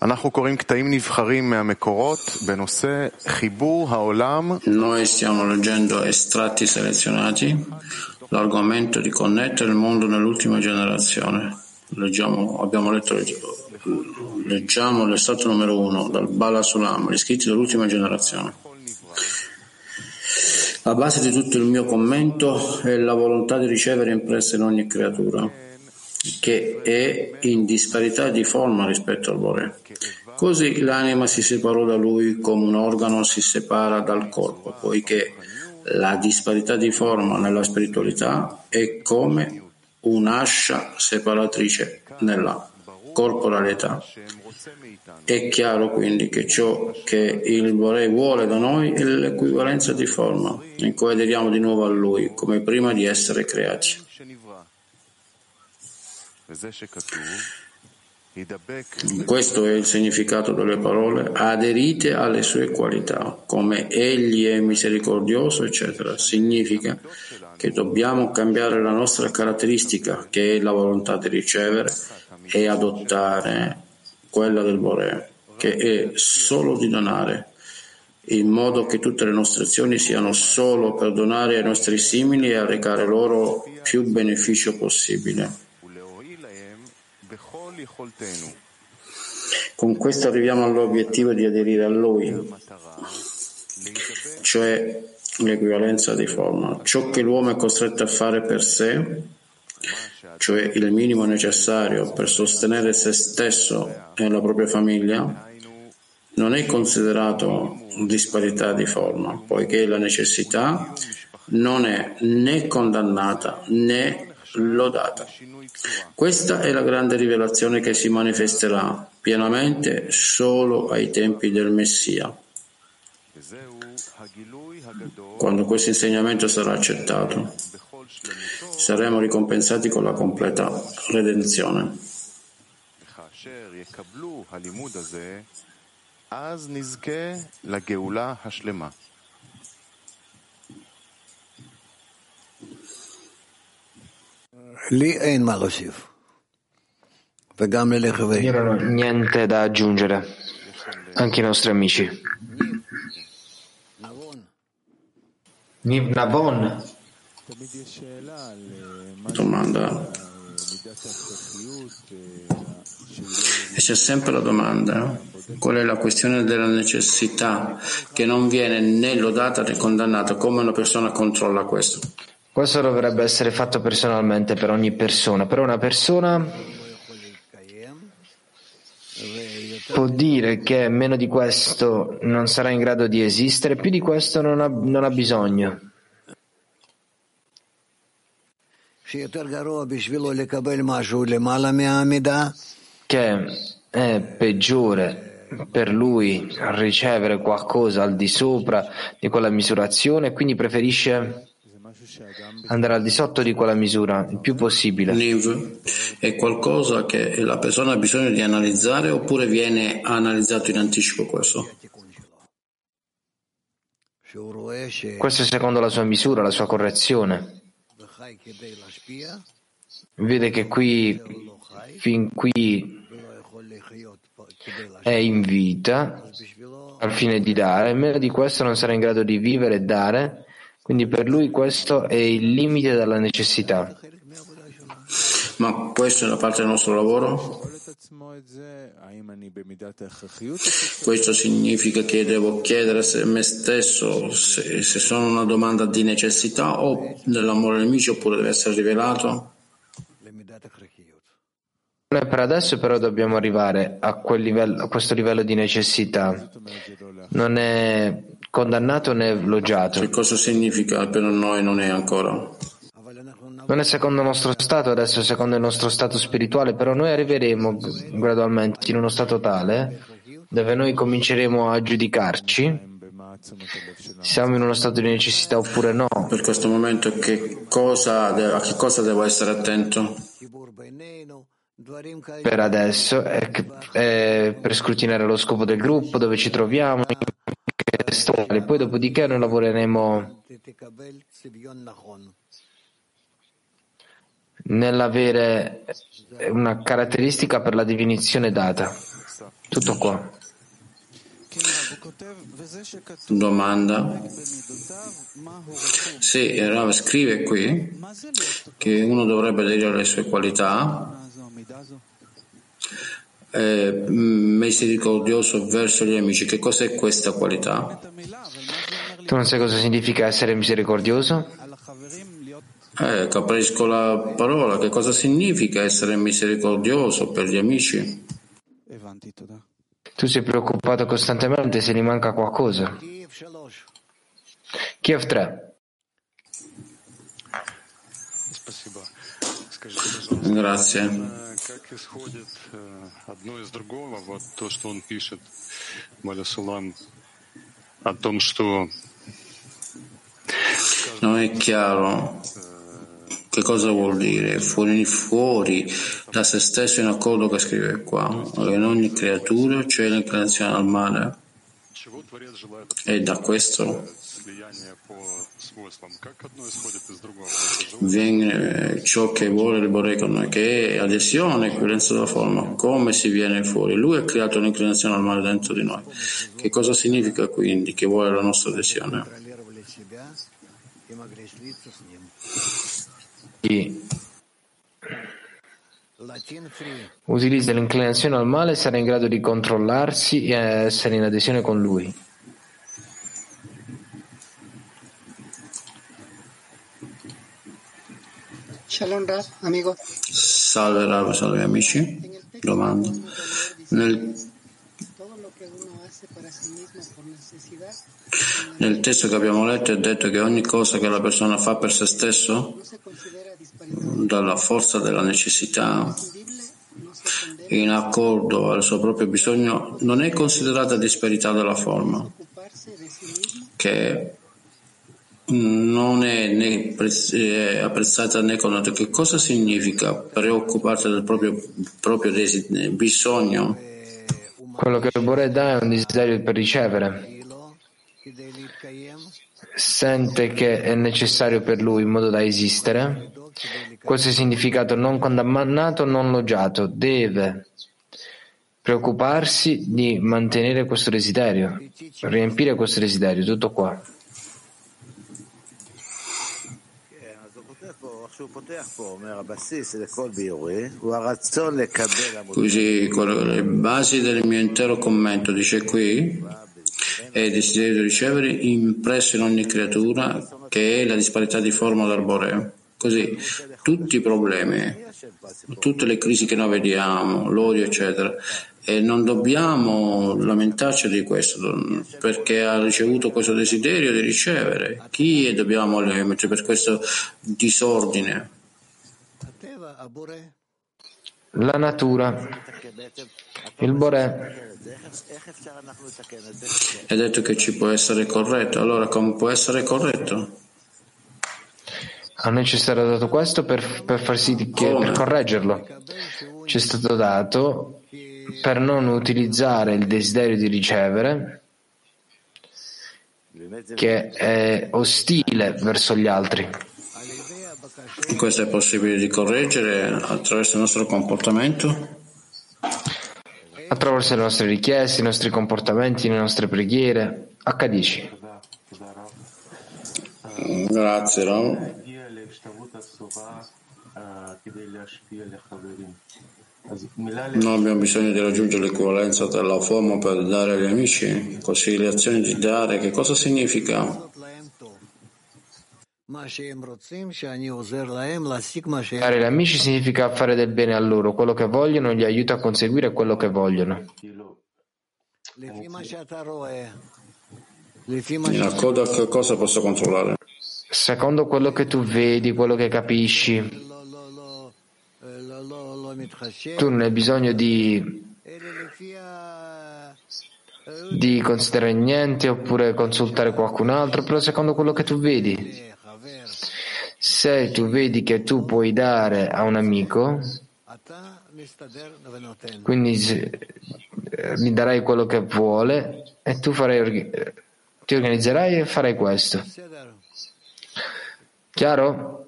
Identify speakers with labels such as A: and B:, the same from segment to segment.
A: Noi stiamo leggendo estratti selezionati, l'argomento di connettere il mondo nell'ultima generazione. Leggiamo l'estratto numero 1 dal Bala Sulam, gli scritti dell'ultima generazione. La base di tutto il mio commento è la volontà di ricevere impressa in ogni creatura, che è in disparità di forma rispetto al Bore. Così l'anima si separò da lui come un organo si separa dal corpo, poiché la disparità di forma nella spiritualità è come un'ascia separatrice nella corporalità. È chiaro quindi che ciò che il Bore vuole da noi è l'equivalenza di forma, in cui aderiamo di nuovo a Lui, come prima di essere creati. Questo è il significato delle parole: aderite alle sue qualità, come Egli è misericordioso, eccetera. Significa che dobbiamo cambiare la nostra caratteristica, che è la volontà di ricevere, e adottare quella del Bore, che è solo di donare, in modo che tutte le nostre azioni siano solo per donare ai nostri simili e a recare loro più beneficio possibile. Con questo arriviamo all'obiettivo di aderire a Lui, cioè l'equivalenza di forma. Ciò che l'uomo è costretto a fare per sé, cioè il minimo necessario per sostenere se stesso e la propria famiglia, non è considerato disparità di forma, poiché la necessità non è né condannata né lodata. Questa è la grande rivelazione che si manifesterà pienamente solo ai tempi del Messia, quando questo insegnamento sarà accettato. Saremo ricompensati con la completa redenzione.
B: Io non ho niente da aggiungere, anche i nostri amici. Niv Navon.
A: Domanda. E c'è sempre la domanda: qual è la questione della necessità, che non viene né lodata né condannata? Come una persona controlla questo?
B: Questo dovrebbe essere fatto personalmente per ogni persona. Per una persona può dire che meno di questo non sarà in grado di esistere, più di questo non ha bisogno. Che è peggiore per lui ricevere qualcosa al di sopra di quella misurazione, quindi preferisce andare al di sotto di quella misura il più possibile.
A: Niv è qualcosa che la persona ha bisogno di analizzare, oppure viene analizzato in anticipo questo?
B: Questo è secondo la sua misura, la sua correzione. Vede che fin qui è in vita al fine di dare, meno di questo non sarà in grado di vivere e dare, quindi per lui questo è il limite della necessità.
A: Ma questo è una parte del nostro lavoro? Questo significa che devo chiedere a me stesso se sono una domanda di necessità o dell'amore nemico, oppure deve essere rivelato?
B: Per adesso però dobbiamo arrivare a questo livello di necessità. Non è condannato né elogiato.
A: Che cosa significa per noi non è ancora?
B: Non è secondo il nostro stato, adesso è secondo il nostro stato spirituale, però noi arriveremo gradualmente in uno stato tale dove noi cominceremo a giudicarci. Siamo in uno stato di necessità oppure no?
A: Per questo momento a che cosa devo essere attento?
B: Per adesso è per scrutinare lo scopo del gruppo, dove ci troviamo, poi dopodiché noi lavoreremo nell'avere una caratteristica per la definizione data. Tutto qua.
A: Domanda. Sì, Rav scrive qui che uno dovrebbe aderire alle sue qualità, misericordioso verso gli amici. Che cos'è questa qualità?
B: Tu non sai cosa significa essere misericordioso?
A: Capisco la parola. Che cosa significa essere misericordioso per gli amici?
B: Tu sei preoccupato costantemente se gli manca qualcosa. Kiev 3.
A: Grazie. Non è chiaro che cosa vuol dire fuori da se stesso in accordo che scrive qua. In ogni creatura c'è l'inclinazione al male e da questo viene ciò che vuole il Boré con noi, che è adesione, equivalenza della forma. Come si viene fuori? Lui ha creato l'inclinazione al male dentro di noi. Che cosa significa quindi che vuole la nostra adesione?
B: Utilizza l'inclinazione al male e sarà in grado di controllarsi e essere in adesione con lui.
C: Shalom Rav, amico.
A: Salve Rav, salve amici. Domanda. Nel testo che abbiamo letto è detto che ogni cosa che la persona fa per se stesso, dalla forza della necessità, in accordo al suo proprio bisogno, non è considerata disparità della forma, che non è né apprezzata né connotata. Che cosa significa preoccuparsi del proprio bisogno?
B: Quello che il Boré dà è un desiderio per ricevere. Sente che è necessario per lui in modo da esistere. Questo è il significato non condannato, non logiato. Deve preoccuparsi di mantenere questo desiderio, riempire questo desiderio, tutto qua.
A: Così le basi del mio intero commento dice qui è il desiderio di ricevere impresso in ogni creatura, che è la disparità di forma dal Boreo. Così tutti i problemi, tutte le crisi che noi vediamo, l'odio eccetera, e non dobbiamo lamentarci di questo, perché ha ricevuto questo desiderio di ricevere. Chi dobbiamo mettere per questo disordine?
B: La natura, il Boré.
A: È detto che ci può essere corretto. Allora come può essere corretto?
B: A noi ci è stato dato questo per far sì che per correggerlo. Ci è stato dato per non utilizzare il desiderio di ricevere, che è ostile verso gli altri.
A: Questo è possibile di correggere attraverso il nostro comportamento?
B: Attraverso le nostre richieste, i nostri comportamenti, le nostre preghiere. H10.
A: Grazie, Ram. Non abbiamo bisogno di raggiungere l'equivalenza della forma per dare agli amici, così le azioni di dare, che cosa significa?
B: Dare agli amici significa fare del bene a loro, quello che vogliono, gli aiuta a conseguire quello che vogliono.
A: In accordo a che cosa posso controllare?
B: Secondo quello che tu vedi, quello che capisci. Tu non hai bisogno di considerare niente oppure consultare qualcun altro, però secondo quello che tu vedi. Se tu vedi che tu puoi dare a un amico, quindi gli darai quello che vuole e tu ti organizzerai e farai questo. Chiaro?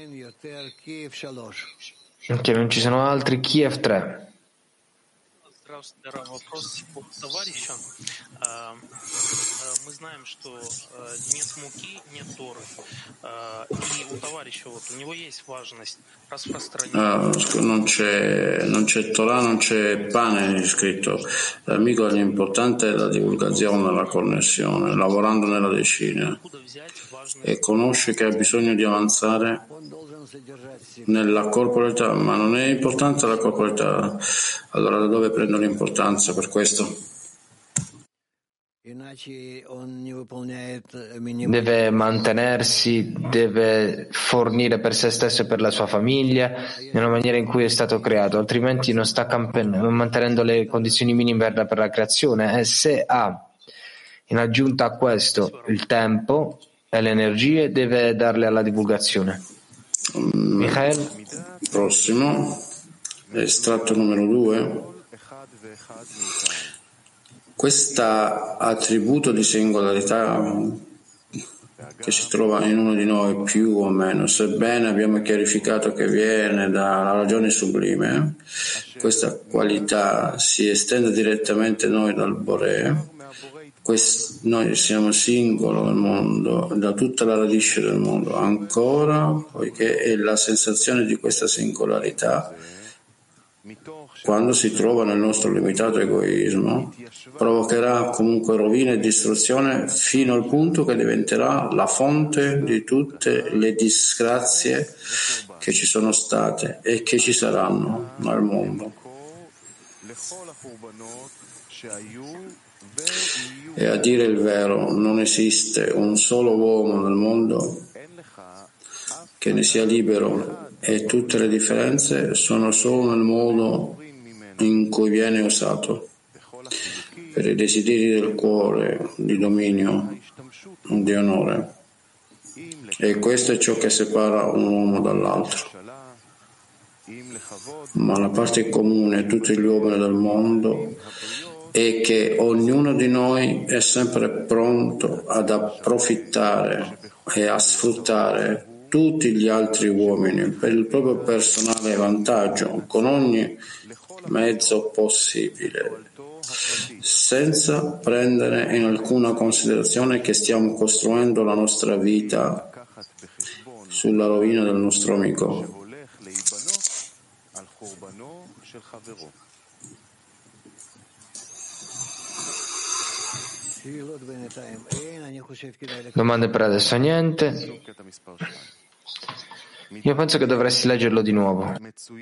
B: Che non ci sono altri. Kiev 3.
A: Non c'è Torah, non c'è pane scritto. L'amico l'importante è la divulgazione, la connessione, lavorando nella decina, e conosce che ha bisogno di avanzare nella corporalità, ma non è importante la corporalità. Allora da dove prendo l'importanza per questo?
B: Deve mantenersi, deve fornire per se stesso e per la sua famiglia nella maniera in cui è stato creato, altrimenti non sta mantenendo le condizioni minime per la creazione. E se ha in aggiunta a questo il tempo e le energie, deve darle alla divulgazione. Michael?
A: Prossimo, estratto numero 2. Questo attributo di singolarità che si trova in uno di noi più o meno, sebbene abbiamo chiarificato che viene dalla ragione sublime, questa qualità si estende direttamente noi dal Boré. Noi siamo singolo nel mondo, da tutta la radice del mondo, ancora, poiché è la sensazione di questa singolarità, quando si trova nel nostro limitato egoismo, provocherà comunque rovina e distruzione fino al punto che diventerà la fonte di tutte le disgrazie che ci sono state e che ci saranno nel mondo. E a dire il vero, non esiste un solo uomo nel mondo che ne sia libero, e tutte le differenze sono solo nel modo in cui viene usato, per i desideri del cuore, di dominio, di onore. E questo è ciò che separa un uomo dall'altro. Ma la parte comune a tutti gli uomini del mondo è che ognuno di noi è sempre pronto ad approfittare e a sfruttare tutti gli altri uomini per il proprio personale vantaggio, con ogni mezzo possibile, senza prendere in alcuna considerazione che stiamo costruendo la nostra vita sulla rovina del nostro amico.
B: Domande per adesso? Niente. Io penso che dovresti leggerlo di nuovo.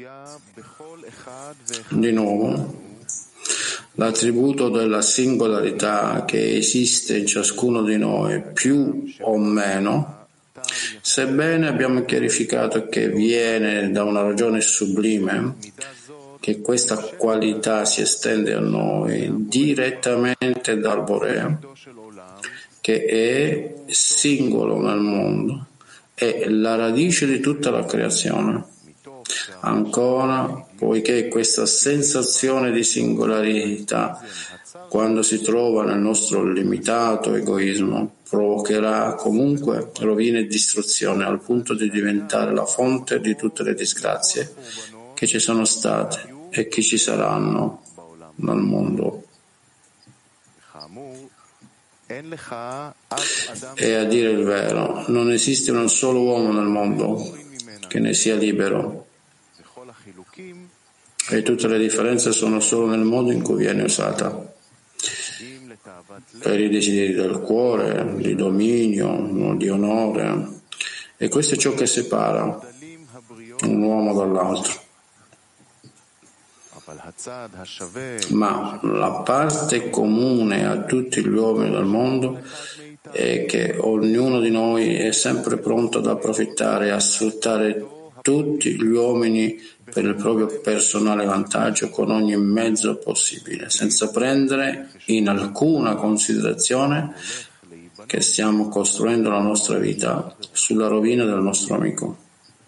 A: Di nuovo, l'attributo della singolarità che esiste in ciascuno di noi, più o meno, sebbene abbiamo chiarificato che viene da una ragione sublime, che questa qualità si estende a noi direttamente dal Boré, che è singolo nel mondo, è la radice di tutta la creazione. Ancora, poiché questa sensazione di singolarità, quando si trova nel nostro limitato egoismo, provocherà comunque rovina e distruzione, al punto di diventare la fonte di tutte le disgrazie che ci sono state e che ci saranno nel mondo. E a dire il vero, non esiste un solo uomo nel mondo che ne sia libero, e tutte le differenze sono solo nel modo in cui viene usata, per i desideri del cuore, di dominio, di onore, e questo è ciò che separa un uomo dall'altro. Ma la parte comune a tutti gli uomini del mondo è che ognuno di noi è sempre pronto ad approfittare e a sfruttare tutti gli uomini per il proprio personale vantaggio con ogni mezzo possibile, senza prendere in alcuna considerazione che stiamo costruendo la nostra vita sulla rovina del nostro amico.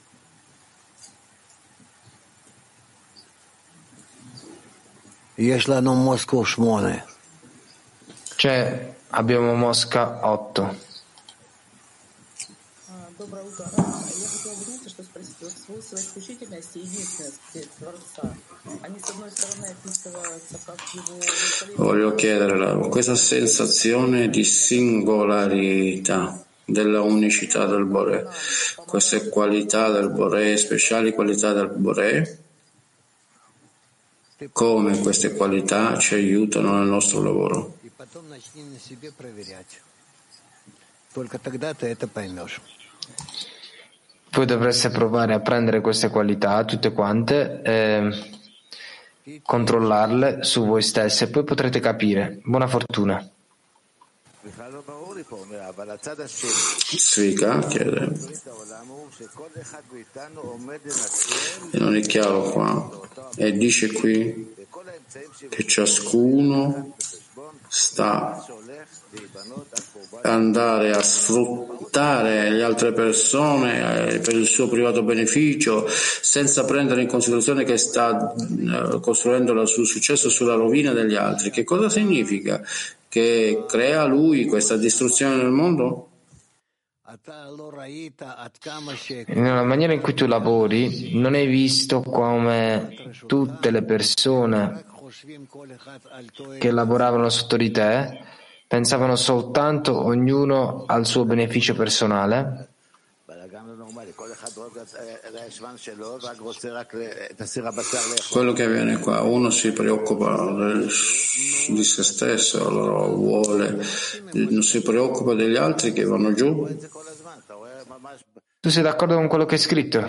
B: Cioè, abbiamo Mosca 8.
A: Voglio chiedere questa sensazione di singolarità, della unicità del Boré, queste qualità del Boré, speciali qualità del Boré, come queste qualità ci aiutano nel nostro lavoro.
B: Voi dovreste provare a prendere queste qualità, tutte quante, controllarle su voi stesse e poi potrete capire. Buona fortuna.
A: Svika chiede, e non è chiaro qua, e dice qui che ciascuno sta andare a sfruttare le altre persone per il suo privato beneficio, senza prendere in considerazione che sta costruendo il suo successo sulla rovina degli altri. Che cosa significa? Che crea lui questa distruzione nel mondo?
B: Nella maniera in cui tu lavori, non hai visto come tutte le persone che lavoravano sotto di te pensavano soltanto ognuno al suo beneficio personale?
A: Quello che avviene qua, uno si preoccupa di se stesso, allora non si preoccupa degli altri che vanno giù.
B: Tu sei d'accordo con quello che è scritto?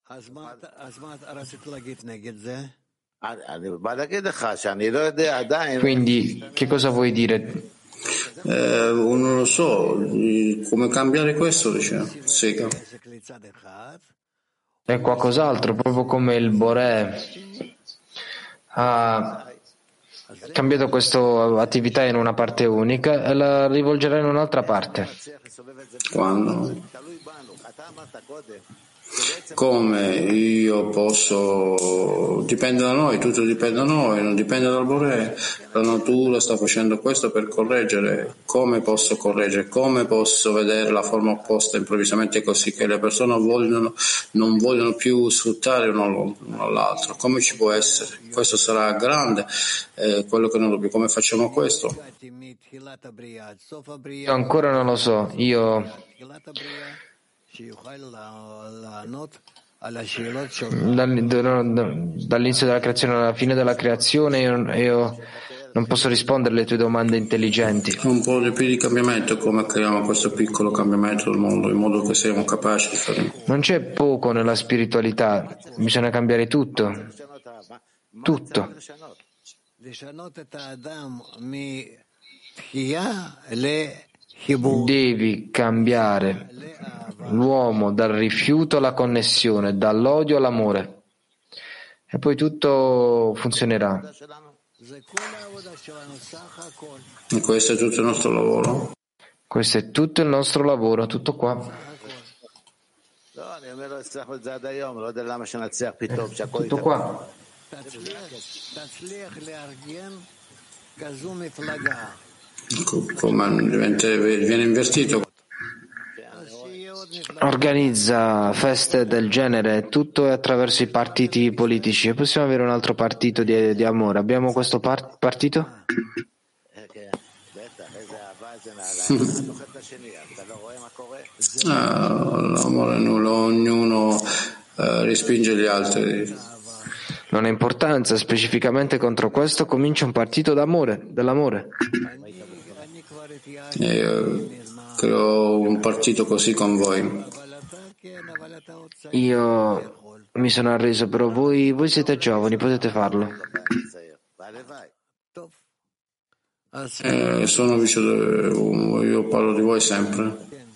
B: Quindi, che cosa vuoi dire?
A: Non lo so, come cambiare questo, dice Sega.
B: È qualcos'altro, proprio come il Boré ha cambiato questa attività in una parte unica e la rivolgerà in un'altra parte.
A: Quando? Come io posso? Dipende da noi, tutto dipende da noi, non dipende dal Boré. La natura sta facendo questo per correggere. Come posso correggere? Come posso vedere la forma opposta improvvisamente così che le persone non vogliono più sfruttare uno all'altro? Come ci può essere? Questo sarà grande, quello che non dobbiamo. Come facciamo questo?
B: Io ancora non lo so. Dall'inizio della creazione alla fine della creazione io non posso rispondere alle tue domande intelligenti.
A: Un po' di più di cambiamento, come creiamo questo piccolo cambiamento del mondo in modo che siamo capaci di fare.
B: Non c'è poco nella spiritualità, bisogna cambiare tutto. Tutto. Devi cambiare l'uomo dal rifiuto alla connessione, dall'odio all'amore e poi tutto funzionerà.
A: E questo è tutto il nostro lavoro.
B: Questo è tutto il nostro lavoro, tutto qua. Tutto qua.
A: Come viene invertito.
B: Organizza feste del genere, tutto è attraverso i partiti politici e possiamo avere un altro partito di amore. Abbiamo questo partito?
A: L'amore nulla, ognuno respinge gli altri.
B: Non ha importanza, specificamente contro questo comincia un partito dell'amore.
A: Creo un partito così con voi.
B: Io mi sono arreso, però voi siete giovani, potete farlo.
A: Sono vicino, io parlo di voi sempre.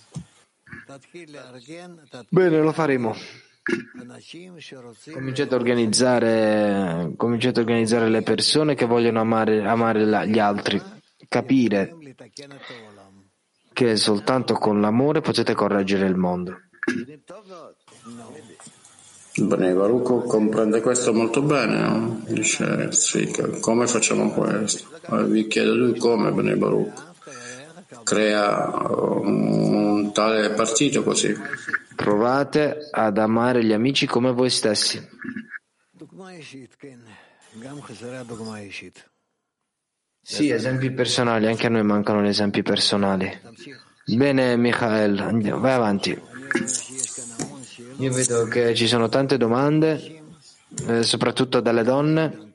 B: Bene, lo faremo. Cominciate a organizzare le persone che vogliono amare gli altri, capire che soltanto con l'amore potete correggere il mondo.
A: Bene, Baruch comprende questo molto bene, no? Dice Svika, come facciamo questo? Vi chiedo lui come, Bene Baruch crea un tale partito così.
B: Provate ad amare gli amici come voi stessi. Sì, esempi personali, anche a noi mancano gli esempi personali. Bene, Michael, vai avanti. Io vedo che ci sono tante domande, soprattutto dalle donne.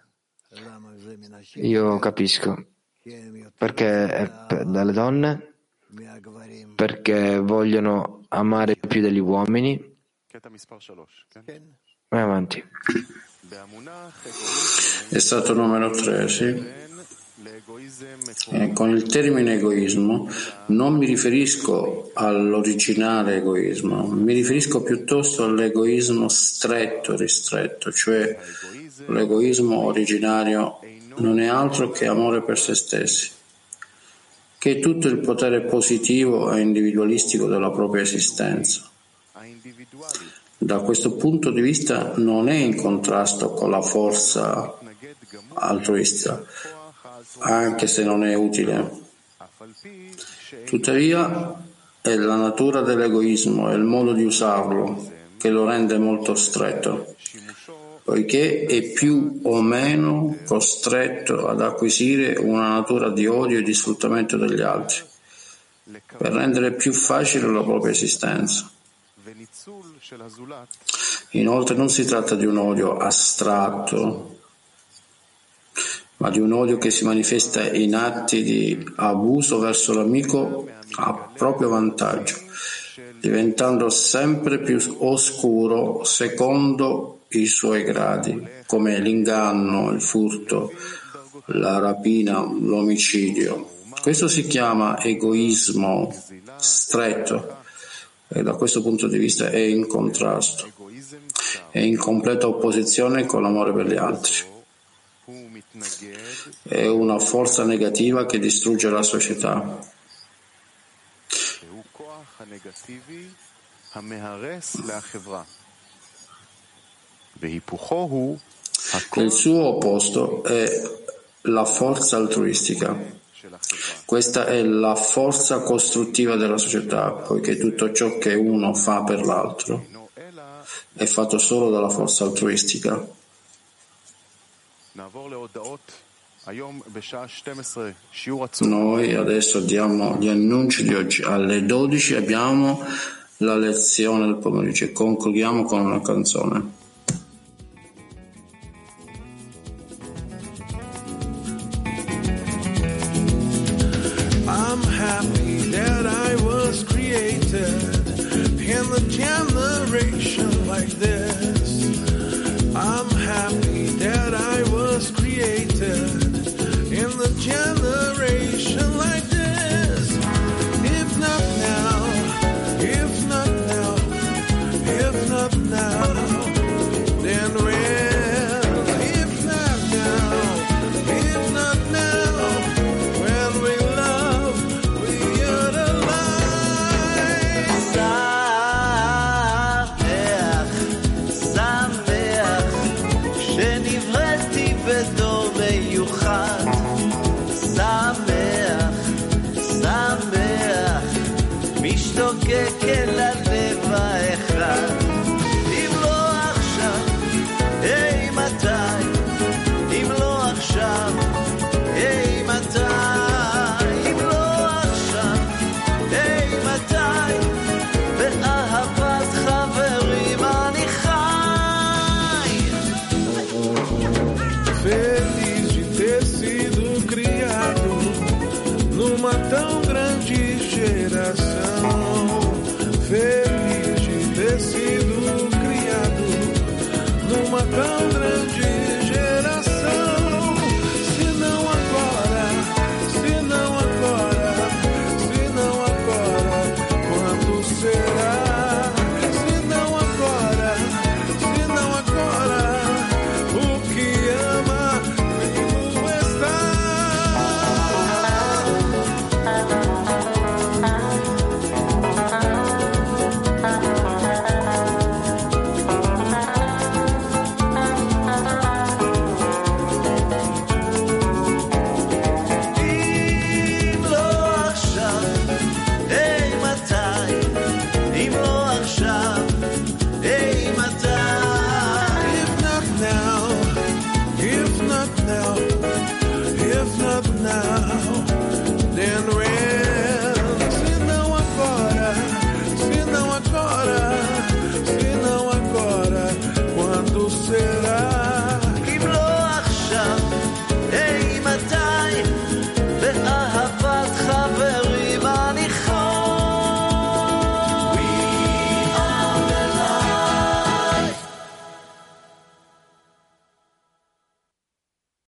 B: Io capisco. Perché dalle donne? Perché vogliono amare più degli uomini. Vai avanti.
A: È stato numero 3, sì. Con il termine egoismo non mi riferisco all'originale egoismo, mi riferisco piuttosto all'egoismo stretto, ristretto, cioè l'egoismo originario non è altro che amore per se stessi, che è tutto il potere positivo e individualistico della propria esistenza. Da questo punto di vista non è in contrasto con la forza altruistica, anche se non è utile. Tuttavia è la natura dell'egoismo e il modo di usarlo che lo rende molto stretto, poiché è più o meno costretto ad acquisire una natura di odio e di sfruttamento degli altri, per rendere più facile la propria esistenza. Inoltre non si tratta di un odio astratto, ma di un odio che si manifesta in atti di abuso verso l'amico a proprio vantaggio, diventando sempre più oscuro secondo i suoi gradi, come l'inganno, il furto, la rapina, l'omicidio. Questo si chiama egoismo stretto e da questo punto di vista è in contrasto, è in completa opposizione con l'amore per gli altri. È una forza negativa che distrugge la società. Il suo opposto è la forza altruistica. Questa è la forza costruttiva della società, poiché tutto ciò che uno fa per l'altro è fatto solo dalla forza altruistica. Noi adesso diamo gli annunci di oggi. Alle 12 abbiamo la lezione del pomeriggio e concludiamo con una canzone.
D: I'm happy that I was created in a generation like this. I'm happy that I was created in a generation like this. If not now, if not now, if not now, then when? If not now, if not now, when we love, we utilize. שמח, שנבראתי בתור מיוחד. שמח, משתוקק אל הלב.